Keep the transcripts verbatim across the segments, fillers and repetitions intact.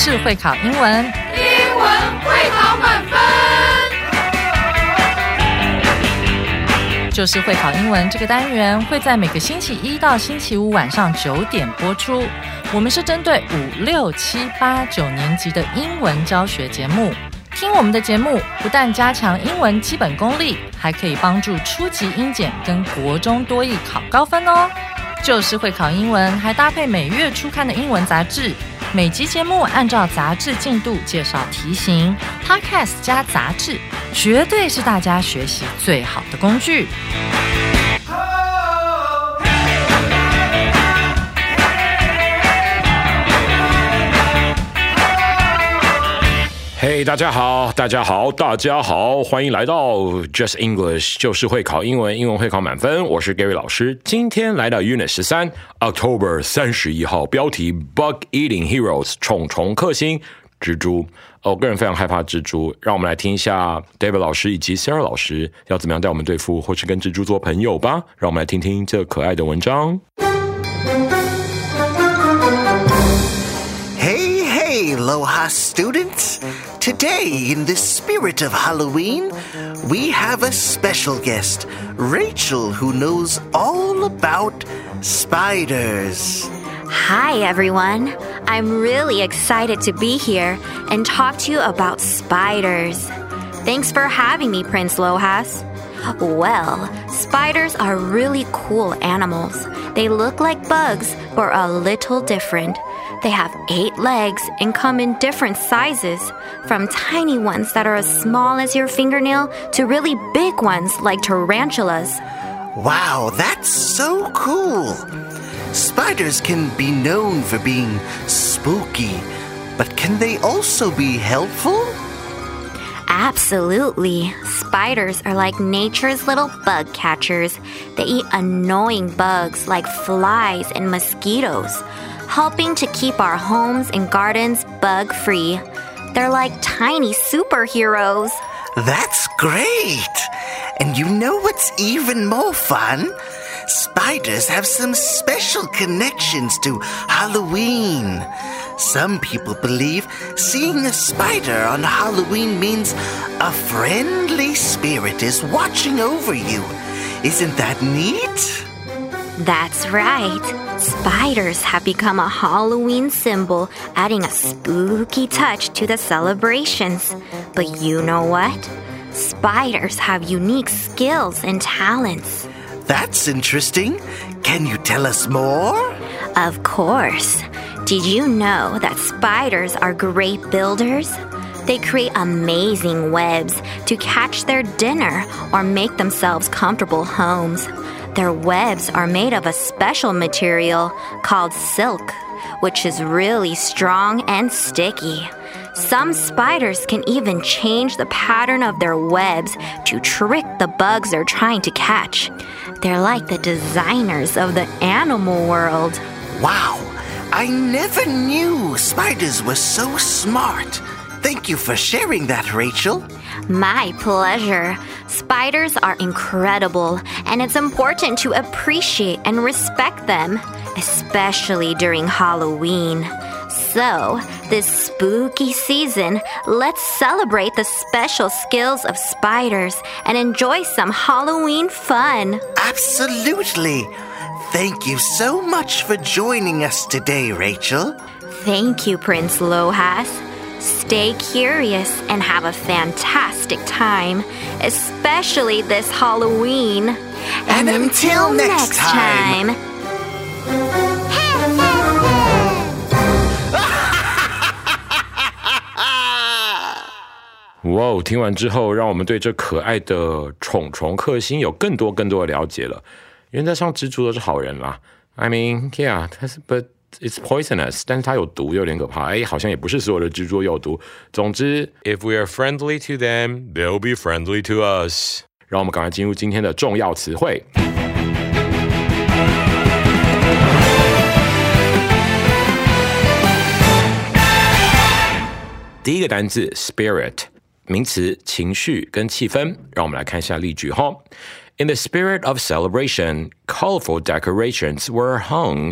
就是会考英文， 英文会考满分。 就是会考英文这个单元会在每个星期一到星期五晚上九点播出。我们是针对五六七八九年级的英文教学节目。听我们的节目，不但加强英文基本功力，还可以帮助初级英检跟国中多益考高分哦。就是会考英文，还搭配每月初刊的英文杂志。每集节目按照杂志进度介绍题型 ，Podcast 加杂志，绝对是大家学习最好的工具。 嘿、hey, 大家好，大家好，大家好，欢迎来到 Just English， 就是会考英文，英文会考满分。我是 Gary 老师，今天来到 Unit 十三 October 三十一号，标题 Bug Eating Heroes 虫虫克星蜘蛛。哦，我个人非常害怕蜘蛛，让我们来听一下 David 老师以及 Sarah 老师要怎么样带我们对付或是跟蜘蛛做朋友吧。让我们来听听这可爱的文章。 Hey, hey, Aloha students! Today, in the spirit of Halloween, we have a special guest, Rachel, who knows all about spiders. Hi, everyone. I'm really excited to be here and talk to you about spiders. Thanks for having me, Prince Lohas. Well, spiders are really cool animals. They look like bugs, but are a little different. They have eight legs and come in different sizes, from tiny ones that are as small as your fingernail to really big ones like tarantulas. Wow, that's so cool! Spiders can be known for being spooky, but can they also be helpful? Absolutely. Spiders are like nature's little bug catchers. They eat annoying bugs like flies and mosquitoes, helping to keep our homes and gardens bug-free. They're like tiny superheroes. That's great! And you know what's even more fun? Spiders have some special connections to Halloween. Some people believe seeing a spider on Halloween means a friendly spirit is watching over you. Isn't that neat? That's right. Spiders have become a Halloween symbol, adding a spooky touch to the celebrations. But you know what? Spiders have unique skills and talents. That's interesting. Can you tell us more? Of course. Did you know that spiders are great builders? They create amazing webs to catch their dinner or make themselves comfortable homes. Their webs are made of a special material called silk, which is really strong and sticky. Some spiders can even change the pattern of their webs to trick the bugs they're trying to catch. They're like the designers of the animal world. Wow, I never knew spiders were so smart. Thank you for sharing that, Rachel. My pleasure. Spiders are incredible, and it's important to appreciate and respect them, especially during Halloween. So, this spooky season, let's celebrate the special skills of spiders and enjoy some Halloween fun. Absolutely. Thank you so much for joining us today, Rachel. Thank you, Prince Lohas. Stay curious and have a fantastic time, especially this Halloween. And, and until, until next, next time. time. 哇哦！听完之后，让我们对这可爱的虫虫克星有更多更多的了解了。原则上，蜘蛛都是好人啦。I mean, yeah, but it's poisonous. 但是它有毒，有点可怕。哎，好像也不是所有的蜘蛛有毒。总之 ，if we are friendly to them, they'll be friendly to us. 让我们赶快进入今天的重要词汇。第一个单字 spirit， 名词情绪跟气氛。让我们来看一下例句哈。In the spirit of celebration, colorful decorations were hung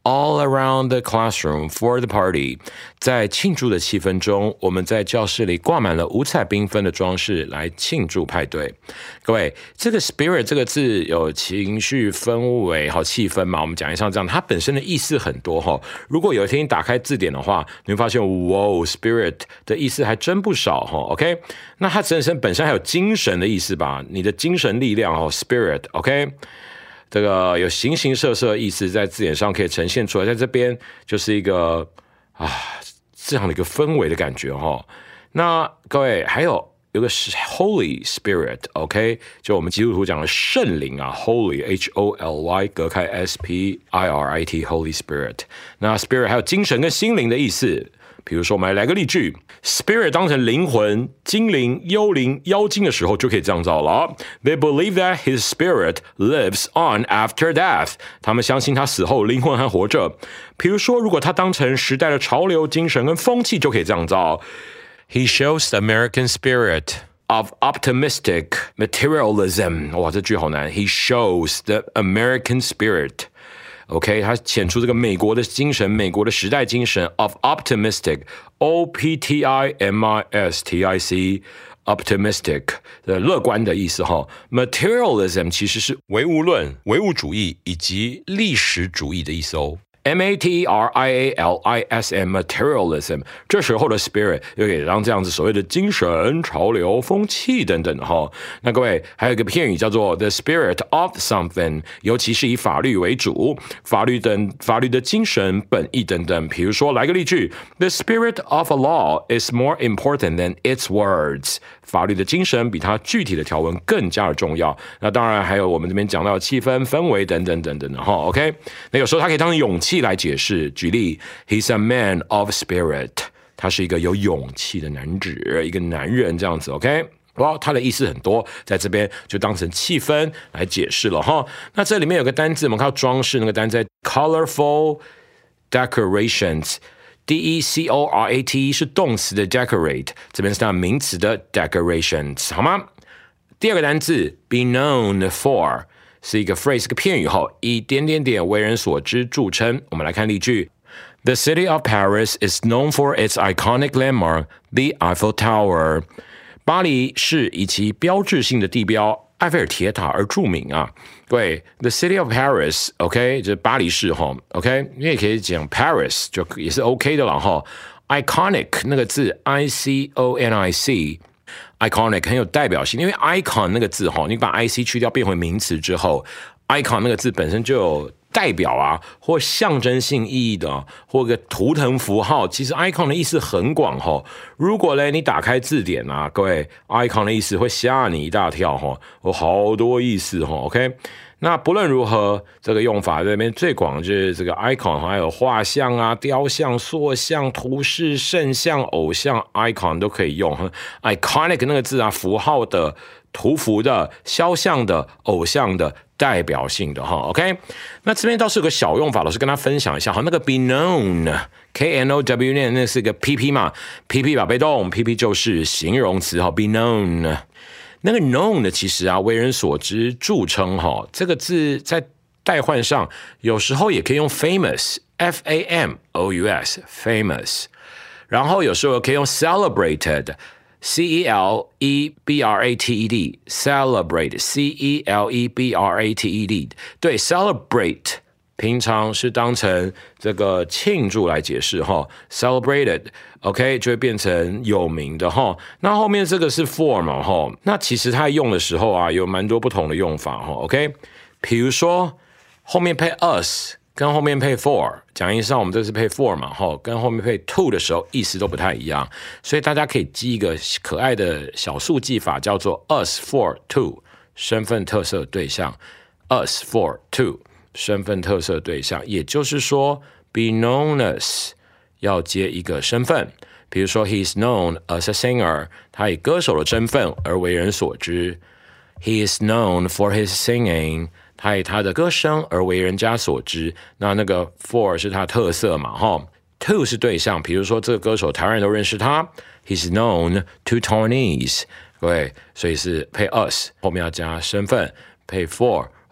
all around the classroom for the party. 在庆祝的气氛中，我们在教室里挂满了五彩缤纷的装饰来庆祝派对。各位，这个 spirit 这个字有情绪、氛围、好气氛嘛？我们讲一下这样，它本身的意思很多哈。如果有一天你打开字典的话，你会发现，哇 ，spirit 的意思还真不少哈。OK， 那它本身本身还有精神的意思吧？你的精神力量哦 ，spirit，OK。这个有形形色色的意思在字典上可以呈现出来，在这边就是一个啊这样的一个氛围的感觉哈。那各位还有有个是 Holy Spirit，OK， 就我们基督徒讲的圣灵啊 ，Holy H O L Y 隔开 S P I R I T Holy Spirit。那 Spirit 还有精神跟心灵的意思。比如说，我们来个例句 ：Spirit 当成灵魂、精灵、幽灵、妖精的时候，就可以这样造了。They believe that his spirit lives on after death。他们相信他死后灵魂还活着。比如说，如果他当成时代的潮流、精神跟风气，就可以这样造。He shows the American spirit of optimistic materialism。哇，这句好难。He shows the American spirit。OK， 他显出这个美国的精神，美国的时代精神 of optimistic O P T I M I S T I C optimistic 的乐观的意思哈。materialism 其实是唯物论、唯物主义以及历史主义的意思哦。M A T E R I A L I S M materialism 这时候的 spirit 又可以让这样子所谓的精神、潮流、风气等等哈。那各位还有一个片语叫做 the spirit of something， 尤其是以法律为主，法律等法律的精神、本意等等。比如说来个例句 ：The spirit of a law is more important than its words。法律的精神比它具体的条文更加的重要。那当然还有我们这边讲到的气氛、氛围等等等等的哈。OK， 那有时候它可以当成勇气来解释。举例 ，He's a man of spirit， 他是一个有勇气的男子，一个男人这样子。OK， 哇，它的意思很多，在这边就当成气氛来解释了哈。那这里面有个单字，我们看到装饰那个单字 ，colorful decorations。D E C O R A T 是动词的 decorate， 这边是它名词的 decorations， 好吗？第二个单字 be known for 是一个 phrase， 一个片语后，以点点点为人所知著称。我们来看例句 ：The city of Paris is known for its iconic landmark, the Eiffel Tower。巴黎市以其标志性的地标埃菲尔铁塔而著名啊。对 ，The city of Paris，OK， 就是巴黎市哈 ，OK， 你也可以讲 Paris， 就也是 OK 的了哈。Iconic 那个字 ，I C O N I C，Iconic 很有代表性，因为 icon 那个字哈，你把 I C 去掉变回名词之后 ，icon 那个字本身就有代表啊，或象征性意义的，或一个图腾符号，其实 icon 的意思很广哈。如果呢，你打开字典啊，各位 icon 的意思会吓你一大跳哈，有好多意思哈。OK， 那不论如何，这个用法这边最广就是这个 icon， 还有画像啊、雕像、塑像、图示、圣像、偶像 icon 都可以用。iconic 那个字啊，符号的、图符的、肖像的、偶像的。代表性的哈 ，OK， 那这边倒是有个小用法，老师跟他分享一下哈。那个 be known K N O W 念那是个 P P 嘛 ，P P 把被动 ，P P 就是形容词哈 ，be known。那个 known 的其实啊，为人所知、著称哈，这个字在代换上有时候也可以用 famous F A M O U S famous， 然后有时候可以用 celebrated。C E L E B R A T E D celebrate C E L E B R A T E D 对 celebrate 平常是当成这个庆祝来解释哈 celebrated OK 就会变成有名的哈。那后面这个是 for 嘛哈，那其实它用的时候啊有蛮多不同的用法哈 OK， 比如说后面配 us。跟后面配 for， 讲义上我们这是配 for 嘛，吼，跟后面配 to 的时候意思都不太一样，所以大家可以记一个可爱的小速记法，叫做 us for to 身份特色对象 ，us for to 身份特色对象，也就是说 be known as 要接一个身份，比如说 he is known as a singer， 他以歌手的身份而为人所知 ，he is known for his singing。他以他的歌声而为人家所知，那那个 for 是他的特色嘛，哈 ，to 是对象，比如说这个歌手台湾人都认识他 ，he's known to Taiwanese， 对，所以是配 us 后面要加身份，配 for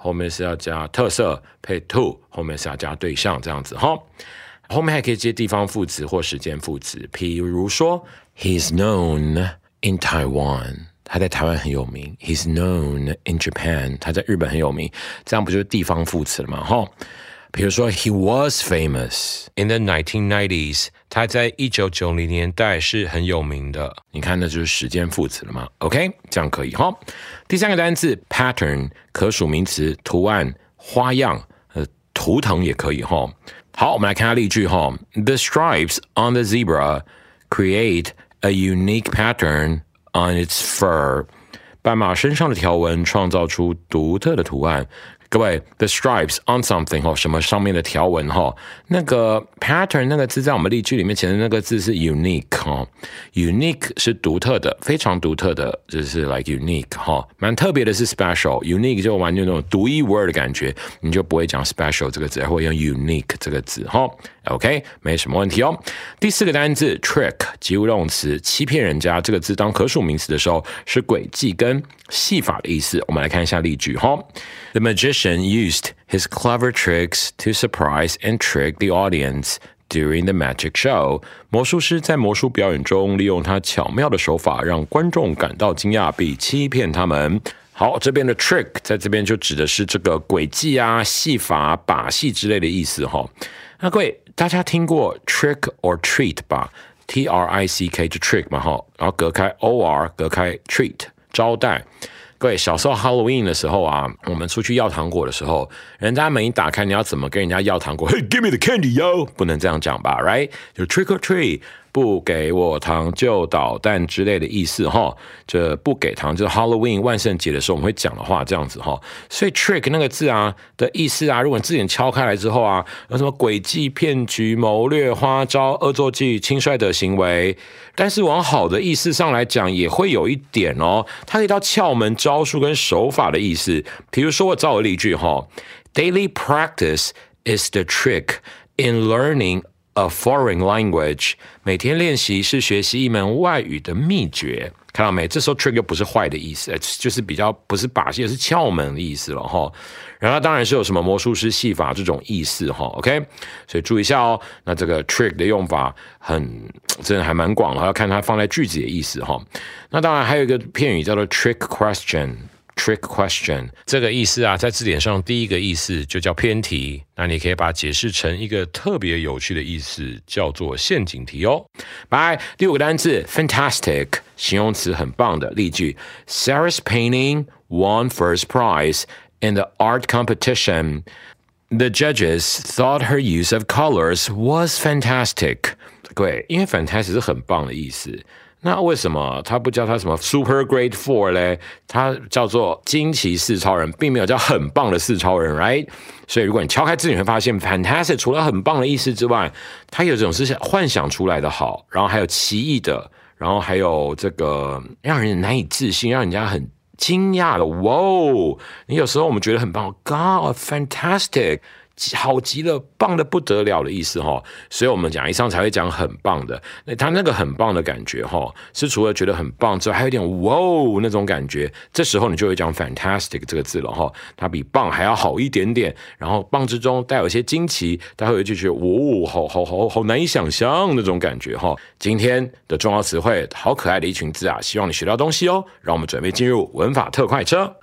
后面是要加特色，配 to 后面是要加对象这样子哈。后面还可以接地方副词或时间副词，譬如说 He's known in Taiwan， 他在台湾很有名。 He's known in Japan， 他在日本很有名，这样不就是地方副词了吗？哈。比如说 He was famous in the nineteen nineties， 他在一九九零年代是很有名的。你看那就是时间副词了吗？ OK， 这样可以哈。第三个单字 pattern， 可数名词，图案、花样、呃，图腾也可以哈。好，我们来看下例句哈。The stripes on the zebra create a unique pattern on its fur。斑马身上的条纹创造出独特的图案。各位 the stripes on something 齁，什么上面的条纹齁，那个 pattern 那个字在我们例句里面前的那个字是 unique 齁 unique 是独特的，非常独特的，就是 like unique 齁，蛮特别的是 special， unique 就完全那种独一无二的感觉，你就不会讲 special 这个字，而会用 unique 这个字齁。OK， 没什么问题哦。第四个单字 trick 及物动词，欺骗人家，这个字当可数名词的时候是诡计跟戏法的意思。我们来看一下例句齁。The magician used his clever tricks to surprise and trick the audience during the magic show. 魔术师在魔术表演中利用他巧妙的手法，让观众感到惊讶并欺骗他们。好，这边的 trick 在这边就指的是这个诡计啊、戏法、把戏之类的意思齁。那各位，大家听过 trick or treat 吧？ T R I C K 就 trick 嘛齁，然后隔开 O R 隔开 treat 招待。各位，小时候 Halloween 的时候啊，我们出去要糖果的时候，人家门一打开，你要怎么跟人家要糖果？ Hey, give me the candy, yo！ 不能这样讲吧 ，right？ 就 trick or treat， 不给我糖就捣蛋之类的意思哈。这不给糖就是 Halloween 万圣节的时候我们会讲的话，这样子哈。所以 trick 那个字啊的意思啊，如果你字典敲开来之后啊，有什么诡计、骗局、谋略、花招、恶作剧、轻率的行为，但是往好的意思上来讲，也会有一点哦，它可以到窍门、招数跟手法的意思。比如说，我造个例句哈 ，Daily practice is the trick in learning a foreign language。每天练习是学习一门外语的秘诀。看到没？这时候 trick 又不是坏的意思，就是比较不是把戏，是窍门的意思了哈。然后当然是有什么魔术师戏法这种意思哈 ，OK， 所以注意一下哦。那这个 trick 的用法很真的还蛮广的，要看它放在句子的意思哈。那当然还有一个片语叫做 trick question。Trick question 这个意思啊，在字典上第一个意思就叫偏题，那你可以把它解释成一个特别有趣的意思，叫做陷阱题哦。来，第五个单字 fantastic 形容词很棒的例句 Sarah's painting won first prize in the art competition. The judges thought her use of colors was fantastic. 各位，因为 fantastic 是很棒的意思，那为什么他不叫他什么 super great four 嘞？他叫做惊奇四超人，并没有叫很棒的四超人 ，right？ 所以如果你敲开字典，会发现 fantastic 除了很棒的意思之外，它有这种是幻想出来的好，然后还有奇异的，然后还有这个让人难以置信，让人家很惊讶的。哇哦！你有时候我们觉得很棒 ，God fantastic。好极了，棒的不得了的意思哈，所以我们讲以上才会讲很棒的。那他那个很棒的感觉哈，是除了觉得很棒之外，还有点哇哦那种感觉。这时候你就会讲 fantastic 这个字了哈，它比棒还要好一点点。然后棒之中带有一些惊奇，待会就觉得哦，好好好好难以想象那种感觉哈。今天的重要词汇，好可爱的一群字啊，希望你学到东西哦。让我们准备进入文法特快车。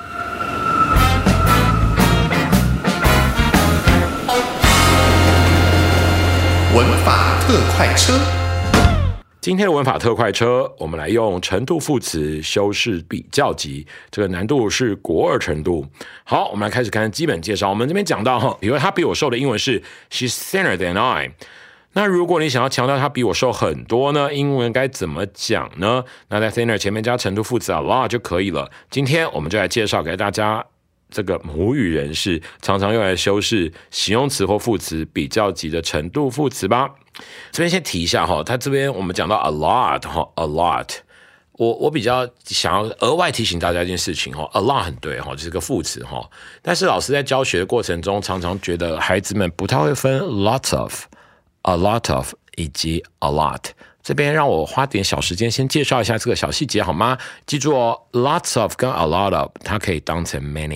文法特快车， 今天的文法特快车，我们来用程度副词修饰比较级，这个难度是国二程度。好，我们来开始看基本介绍。我们这边讲到，比如他比我瘦的英文是 She's thinner than I。那如果你想要强调他比我瘦很多呢，英文该怎么讲呢？那在 thinner 前面加程度副词 a lot 就可以了。今天我们就来介绍给大家。这个母语人士常常用来修饰形容词或副词比较级的程度副词吧。这边先提一下哈，他这边我们讲到 a lot 哈 ，a lot， 我我比较想要额外提醒大家一件事情哈 ，a lot 很对哈，就是个副词哈。但是老师在教学的过程中，常常觉得孩子们不太会分 lots of、a lot of 以及 a lot。这边让我花点小时间先介绍一下这个小细节好吗？记住哦 ，lots of 跟 a lot of 它可以当成 many，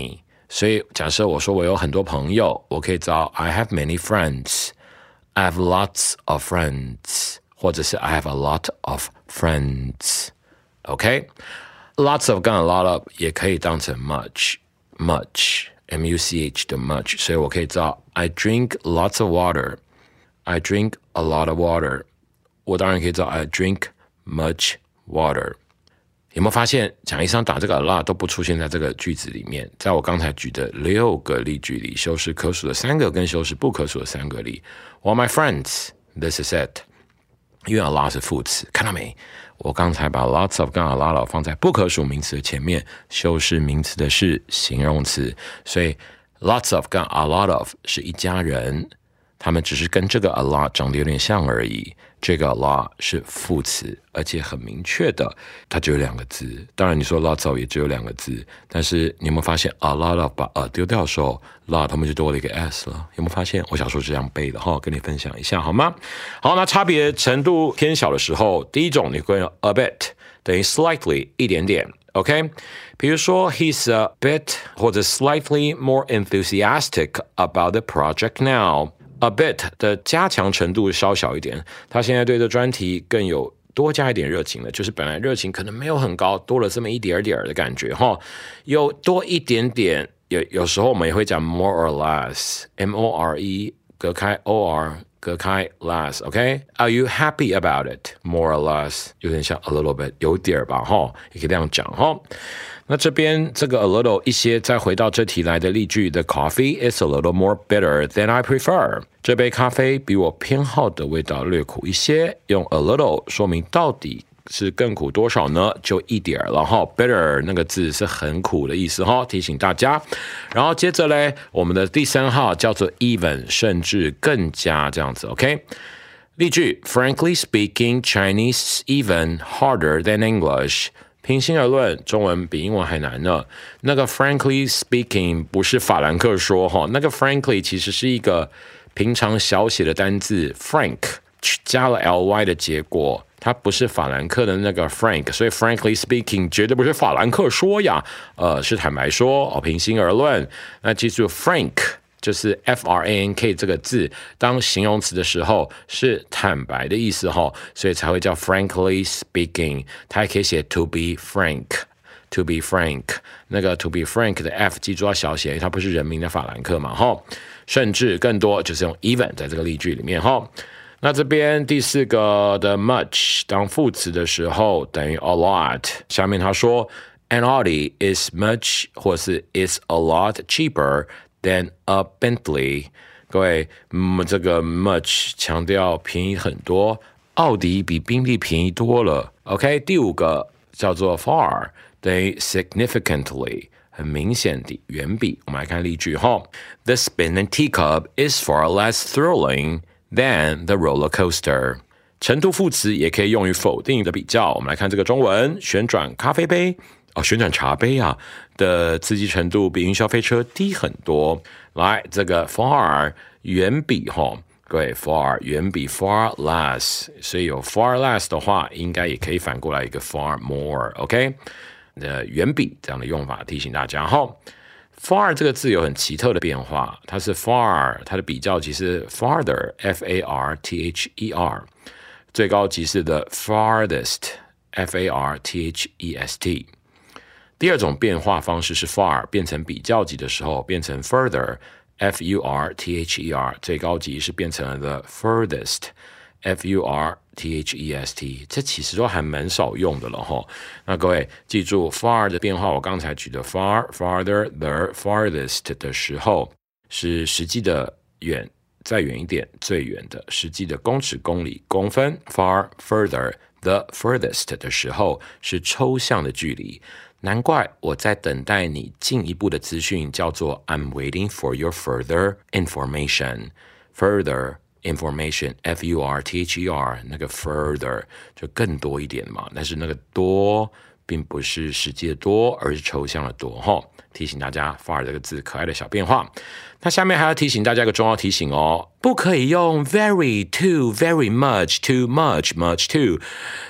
所以假设我说我有很多朋友，我可以找 I have many friends， I have lots of friends， 或者是 I have a lot of friends。 OK， lots of 跟 a lot of 也可以当成 much much M U C H 的 much， 所以我可以找 I drink lots of water， I drink a lot of water， 我当然可以找 I drink much water。有没有发现讲义上打这个 a lot 都不出现在这个句子里面？在我刚才举的六个例句里，修饰可数的三个跟修饰不可数的三个里 Well my friends, this is it。 因为 a lot 是副词，看到没？我刚才把 lots of 跟 a lot of 放在不可数名词的前面，修饰名词的是形容词，所以 lots of 跟 a lot of 是一家人，他们只是跟这个 a lot 长得有点像而已。这个 a lot 是副词，而且很明确的，它只有两个字。当然你说 lots of 也只有两个字，但是你有没有发现 a lot of 把 a 丢掉的时候 lot 后面就多了一个 s 了？有没有发现？我小时候是这样背的哈，跟你分享一下好吗？好，那差别程度偏小的时候，第一种你会用 a bit 等于 slightly 一点点 OK， 比如说 he's a bit 或者 slightly more enthusiastic about the project now。A bit 的加强程度稍小一点，他现在对这专题更有多加一点热情了，就是本来热情可能没有很高，多了这么一点点的感觉哈，有多一点点，有有时候我们也会讲 more or less， M O R E 隔开 O R 隔开 less， OK？Are you happy about it? More or less 有点像 a little bit， 有点吧哈，也可以这样讲哈。那这边这个 a little 一些，再回到这题来的例句 The coffee is a little more bitter than I prefer。 这杯咖啡比我偏好的味道略苦一些，用 a little 说明到底是更苦多少呢？就一点了哈。bitter 那个字是很苦的意思哈，提醒大家。然后接着嘞，我们的第三号叫做 even， 甚至更加这样子 OK。例句 Frankly speaking, Chinese even harder than English。平心而论，中文比英文还难呢。那个 frankly speaking 不是法兰克说哈，那个 frankly 其实是一个平常小写的单字 frank 加了 ly 的结果，它不是法兰克的那个 frank， 所以 frankly speaking 绝对不是法兰克说呀，呃，是坦白说哦，平心而论。那记住 frank。就是 F R A N K 这个字当形容词的时候是坦白的意思齁，所以才会叫 frankly speaking。 它还可以写 to be frank， to be frank， 那个 to be frank 的 F 记住要小写，它不是人名的法兰克嘛齁。甚至更多就是用 even 在这个例句里面齁。那这边第四个的 much 当副词的时候等于 a lot， 下面他说 an Audi is much 或是 is a lot cheaper than a Bentley。 各位、嗯、这个 much 强调便宜很多，奥迪比宾利便宜多了 OK。 第五个叫做 far 等于 significantly， 很明显的远比。我们来看例句齁 The spinning teacup is far less thrilling than the roller coaster。 程度副词也可以用于否定的比较。我们来看这个中文，旋转咖啡杯哦，旋转茶杯啊的刺激程度比云霄飞车低很多。来，这个 far 远比齁，各位 far 远比 far less， 所以有 far less 的话，应该也可以反过来一个 far more，OK？ 呃，远比这样的用法提醒大家齁。far 这个字有很奇特的变化，它是 far， 它的比较级是 farther F A R T H E R， 最高级是的 farthest F A R T H E S T。第二种变化方式是 far 变成比较级的时候变成 further F U R T H E R， 最高级是变成了 the furthest F U R T H E S T， 这其实都还蛮少用的了齁。那各位记住 far 的变化，我刚才举的 far farther the farthest 的时候是实际的远，再远一点最远的实际的公尺公里公分， far further the furthest 的时候是抽象的距离。难怪我在等待你进一步的资讯，叫做 I'm waiting for your further information。 Further information F U R T H E R， 那个 further 就更多一点嘛，但是那个多并不是实际的多，而是抽象的多齁。提醒大家 far 这个字可爱的小变化。那下面还要提醒大家一个重要提醒哦，不可以用 very too very much too much much too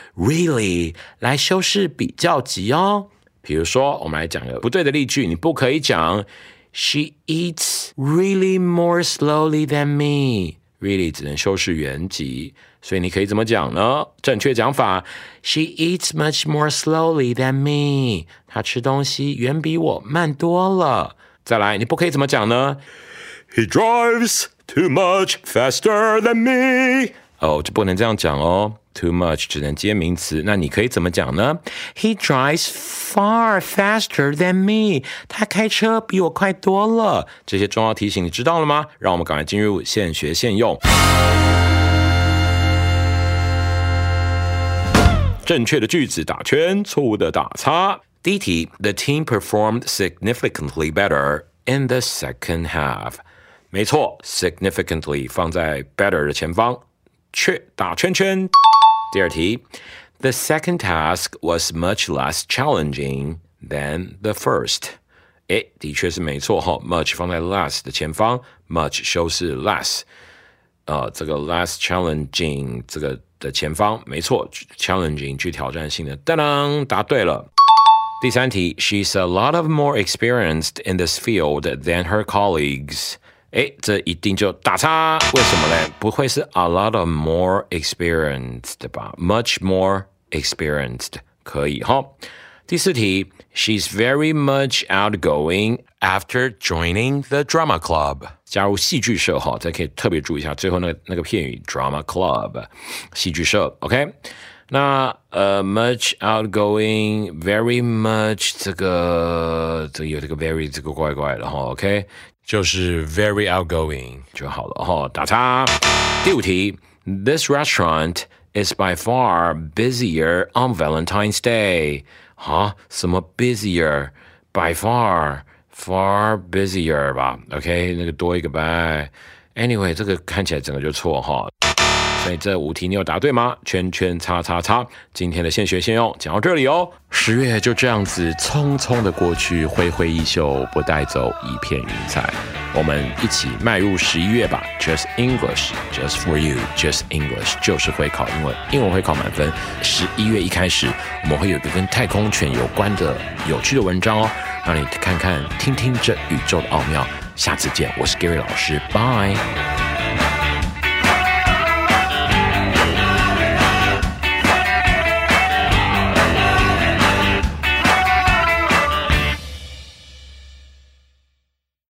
really 来修饰比较级哦。比如说我们来讲个不对的例句，你不可以讲 She eats really more slowly than me. Really 只能修饰原级，所以你可以怎么讲呢？正确讲法 She eats much more slowly than me. 她吃东西远比我慢多了。再来，你不可以怎么讲呢？ He drives too much faster than me. 哦，就不能这样讲哦。Too much 只能接名词，那你可以怎么讲呢？ He drives far faster than me. 他开车比我快多了。这些重要提醒你知道了吗？让我们赶快进入现学现用。正确的句子打圈，错误的打叉。第一题 The team performed significantly better in the second half. 没错 significantly 放在 better 的前方，确打圈圈。第二题 The second task was much less challenging than the first. 诶，的确是没错哈 much 放在 less 的前方 much 修饰 less 呃，这个 less challenging 这个的前方没错 challenging 具挑战性的，当当答对了。第三题 She's a lot of more experienced in this field than her colleagues. 诶，这一定就打叉，为什么呢？不会是 a lot of more experienced 吧 much more experienced 可以哈。第四题 She's very much outgoing after joining the drama club. 加入戏剧社哈，这可以特别注意一下最后那个那个片语 drama club 戏剧社 OK。那呃、uh, much outgoing very much 这个这个有这个 very 这个怪怪的哈 OK， 就是 very outgoing 就好了哈，打叉。第五题 This restaurant is by far busier on Valentine's Day. 哈，什么 busier by far far busier 吧 OK， 那个多一个 by anyway 这个看起来整个就错哈。所以这五题你有答对吗？圈圈叉叉叉。今天的现学现用讲到这里哦。十月就这样子匆匆的过去，挥挥衣袖，不带走一片云彩。我们一起迈入十一月吧。Just English, just for you, just English 就是会考英文，英文会考满分。十一月一开始，我们会有一个跟太空犬有关的有趣的文章哦，让你看看、听听这宇宙的奥妙。下次见，我是 Gary 老师，拜。